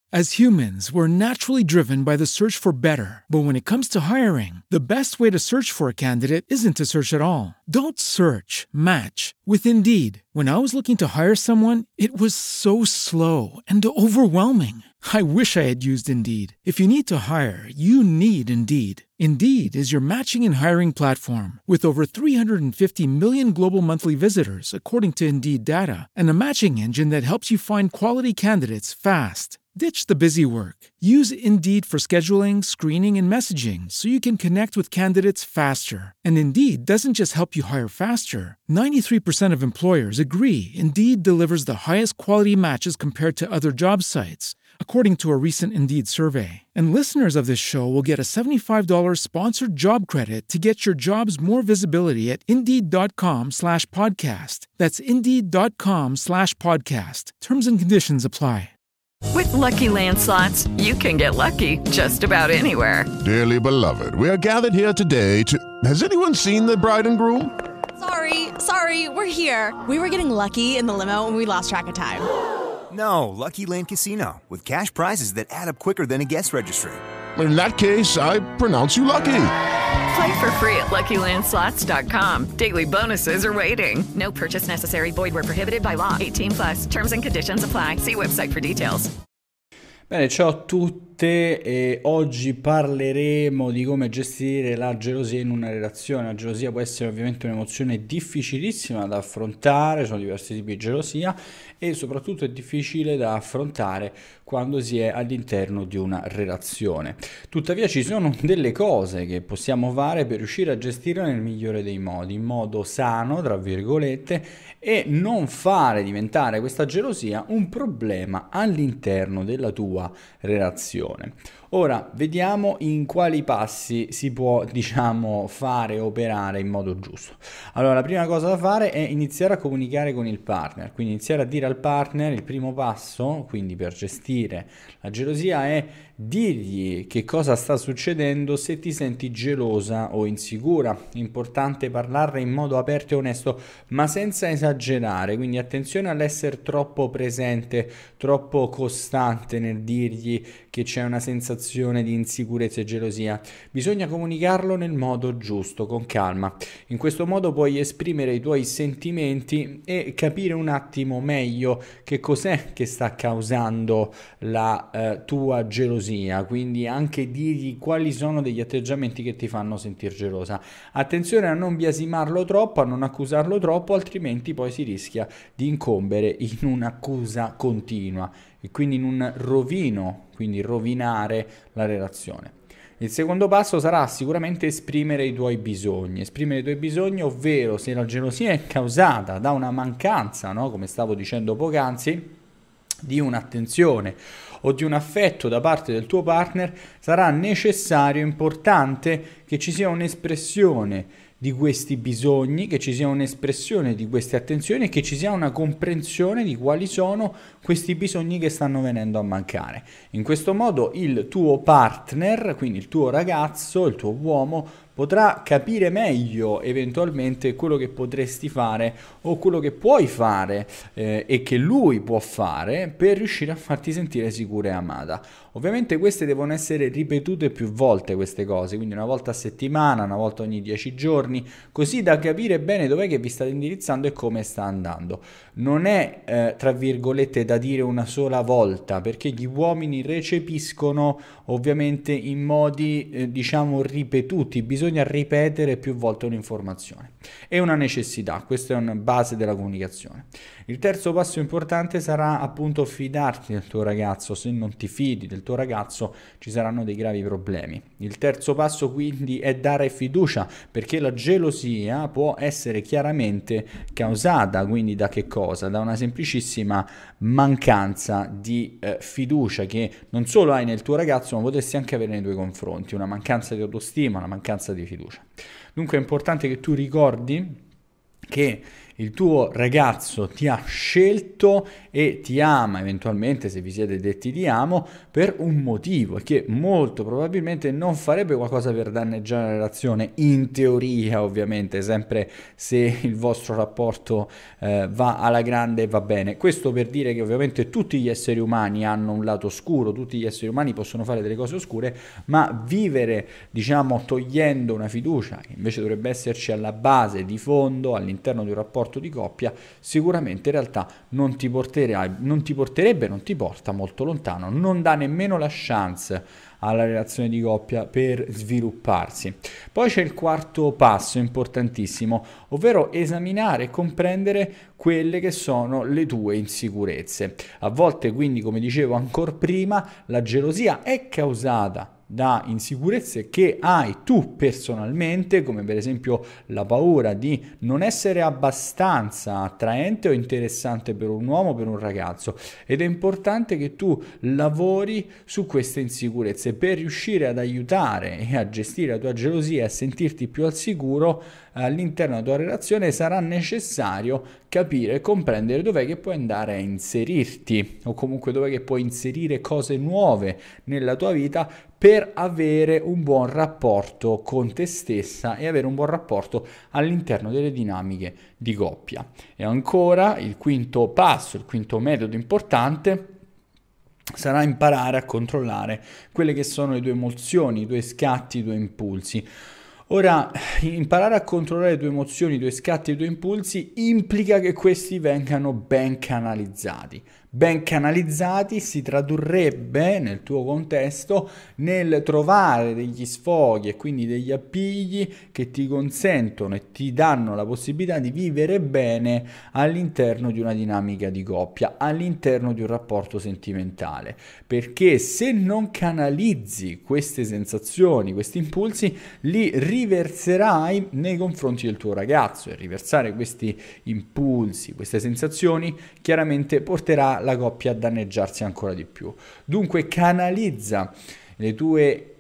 As humans, we're naturally driven by the search for better. But when it comes to hiring, the best way to search for a candidate isn't to search at all. Don't search, match with Indeed. When I was looking to hire someone, it was so slow and overwhelming. I wish I had used Indeed. If you need to hire, you need Indeed. Indeed is your matching and hiring platform with over 350 million global monthly visitors, according to Indeed data, and a matching engine that helps you find quality candidates fast. Ditch the busy work. Use Indeed for scheduling, screening, and messaging so you can connect with candidates faster. And Indeed doesn't just help you hire faster. 93% of employers agree Indeed delivers the highest quality matches compared to other job sites, according to a recent Indeed survey. And listeners of this show will get a $75 sponsored job credit to get your jobs more visibility at Indeed.com/podcast. That's Indeed.com/podcast. Terms and conditions apply. With Lucky Land Slots, you can get lucky just about anywhere. Dearly beloved, we are gathered here today to... Has anyone seen the bride and groom? Sorry, we're here. We were getting lucky in the limo and we lost track of time. No, Lucky Land Casino, with cash prizes that add up quicker than a guest registry. In that case, I pronounce you lucky. Play for free at LuckyLandSlots.com. Daily bonuses are waiting. No purchase necessary. Void where prohibited by law. 18+. Terms and conditions apply. See website for details. Bene, ciao a tutte e oggi parleremo di come gestire la gelosia in una relazione. La gelosia può essere ovviamente un'emozione difficilissima da affrontare, sono diversi tipi di gelosia e soprattutto è difficile da affrontare quando si è all'interno di una relazione. Tuttavia ci sono delle cose che possiamo fare per riuscire a gestirla nel migliore dei modi, in modo sano, tra virgolette, e non fare diventare questa gelosia un problema all'interno della tua relazione. Ora vediamo in quali passi si può, fare operare in modo giusto. Allora, la prima cosa da fare è iniziare a comunicare con il partner, quindi iniziare a dire al partner il primo passo, quindi per gestire la gelosia, è dirgli che cosa sta succedendo se ti senti gelosa o insicura. Importante parlarne in modo aperto e onesto, ma senza esagerare, quindi attenzione all'essere troppo presente, troppo costante nel dirgli che c'è una sensazione di insicurezza e gelosia. Bisogna comunicarlo nel modo giusto, con calma. In questo modo puoi esprimere i tuoi sentimenti e capire un attimo meglio che cos'è che sta causando la tua gelosia, quindi anche dirgli quali sono degli atteggiamenti che ti fanno sentire gelosa. Attenzione a non biasimarlo troppo, a non accusarlo troppo, altrimenti poi si rischia di incombere in un'accusa continua e quindi in un rovino, quindi rovinare la relazione. Il secondo passo sarà sicuramente esprimere i tuoi bisogni, ovvero se la gelosia è causata da una mancanza, no? Come stavo dicendo poc'anzi, di un'attenzione o di un affetto da parte del tuo partner, sarà necessario, importante, che ci sia un'espressione di questi bisogni, che ci sia un'espressione di queste attenzioni e che ci sia una comprensione di quali sono questi bisogni che stanno venendo a mancare. In questo modo il tuo partner, quindi il tuo ragazzo, il tuo uomo, potrà capire meglio eventualmente quello che potresti fare o quello che puoi fare e che lui può fare per riuscire a farti sentire sicura e amata. Ovviamente queste devono essere ripetute più volte, queste cose, quindi una volta a settimana, una volta ogni 10 giorni, così da capire bene dov'è che vi state indirizzando e come sta andando. Non è, tra virgolette, da dire una sola volta, perché gli uomini recepiscono ovviamente in modi, ripetuti. Bisogna ripetere più volte un'informazione. È una necessità, questa è una base della comunicazione. Il terzo passo importante sarà appunto fidarti del tuo ragazzo. Se non ti fidi del tuo ragazzo ci saranno dei gravi problemi. Il terzo passo quindi è dare fiducia, perché la gelosia può essere chiaramente causata quindi da che cosa? Da una semplicissima mancanza di fiducia che non solo hai nel tuo ragazzo ma potresti anche avere nei tuoi confronti, una mancanza di autostima, una mancanza di fiducia. Dunque è importante che tu ricordi che il tuo ragazzo ti ha scelto e ti ama, eventualmente se vi siete detti ti amo, per un motivo, e che molto probabilmente non farebbe qualcosa per danneggiare la relazione, in teoria ovviamente, sempre se il vostro rapporto va alla grande e va bene. Questo per dire che ovviamente tutti gli esseri umani hanno un lato oscuro, tutti gli esseri umani possono fare delle cose oscure, ma vivere, diciamo, togliendo una fiducia che invece dovrebbe esserci alla base, di fondo, all'interno di un rapporto di coppia, sicuramente in realtà non ti porta molto lontano, non dà nemmeno la chance alla relazione di coppia per svilupparsi. Poi c'è il quarto passo importantissimo, ovvero esaminare e comprendere quelle che sono le tue insicurezze. A volte, quindi, come dicevo ancora prima, la gelosia è causata da insicurezze che hai tu personalmente, come per esempio la paura di non essere abbastanza attraente o interessante per un uomo, per un ragazzo, ed è importante che tu lavori su queste insicurezze per riuscire ad aiutare e a gestire la tua gelosia e a sentirti più al sicuro all'interno della tua relazione. Sarà necessario capire e comprendere dov'è che puoi andare a inserirti, o comunque dov'è che puoi inserire cose nuove nella tua vita per avere un buon rapporto con te stessa e avere un buon rapporto all'interno delle dinamiche di coppia. E ancora il quinto passo, il quinto metodo importante sarà imparare a controllare quelle che sono le tue emozioni, i tuoi scatti, i tuoi impulsi. Ora, imparare a controllare le tue emozioni, i tuoi scatti e i tuoi impulsi implica che questi vengano ben canalizzati. Ben canalizzati si tradurrebbe nel tuo contesto nel trovare degli sfoghi e quindi degli appigli che ti consentono e ti danno la possibilità di vivere bene all'interno di una dinamica di coppia, all'interno di un rapporto sentimentale. Perché se non canalizzi queste sensazioni, questi impulsi, li riverserai nei confronti del tuo ragazzo, e riversare questi impulsi, queste sensazioni, chiaramente porterà la coppia a danneggiarsi ancora di più. Dunque canalizza le tue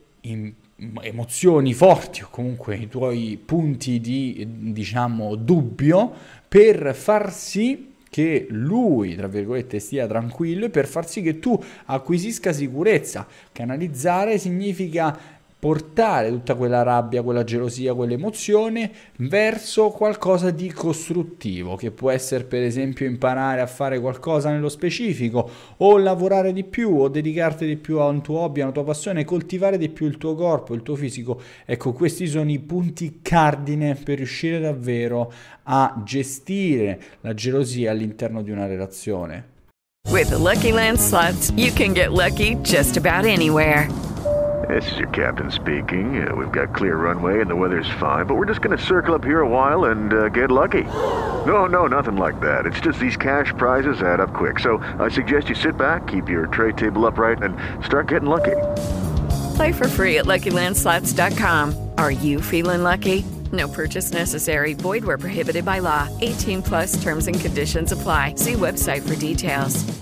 emozioni forti, o comunque i tuoi punti di, diciamo, dubbio, per far sì che lui, tra virgolette, stia tranquillo e per far sì che tu acquisisca sicurezza. Canalizzare significa portare tutta quella rabbia, quella gelosia, quell'emozione verso qualcosa di costruttivo, che può essere per esempio imparare a fare qualcosa nello specifico, o lavorare di più, o dedicarti di più a un tuo hobby, a una tua passione, coltivare di più il tuo corpo, il tuo fisico. Ecco, questi sono i punti cardine per riuscire davvero a gestire la gelosia all'interno di una relazione. With the Lucky Land Slots, you can get lucky just about anywhere. This is your captain speaking. We've got clear runway and the weather's fine, but we're just going to circle up here a while and get lucky. No, nothing like that. It's just these cash prizes add up quick. So I suggest you sit back, keep your tray table upright, and start getting lucky. Play for free at LuckyLandSlots.com. Are you feeling lucky? No purchase necessary. Void where prohibited by law. 18+ terms and conditions apply. See website for details.